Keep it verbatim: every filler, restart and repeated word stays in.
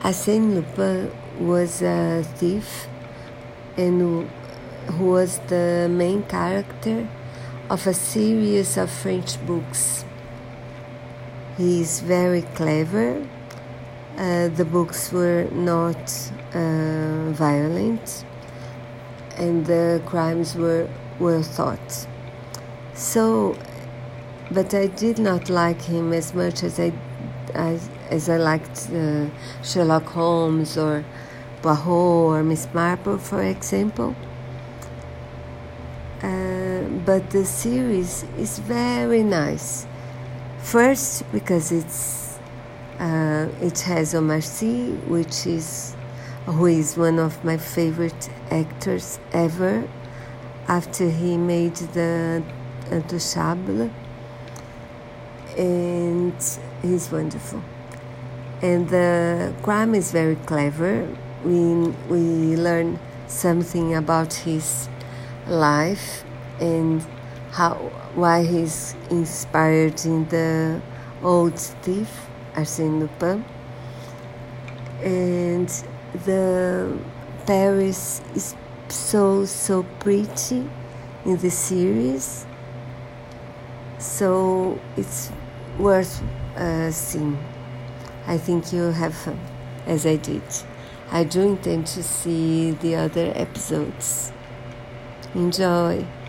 Arsène Lupin was a thief and who was the main character of a series of French books. He is very clever. Uh, the books were not uh, violent, and the crimes were well thought. So, but I did not like him as much as I, as, as I liked uh, Sherlock Holmes or Poirot or Miss Marple, for example. Uh, but the series is very nice. First, because it's uh, it has Omar Sy, which is who is one of my favorite actors ever. After he made the Intouchable, and he's wonderful. And the crime is very clever. We we learn something about his life and how why he's inspired in the old thief Arsène Lupin. And the Paris is so so pretty in the series, so it's worth uh, seeing. I think you'll have fun, as I did. I do intend to see the other episodes. Enjoy!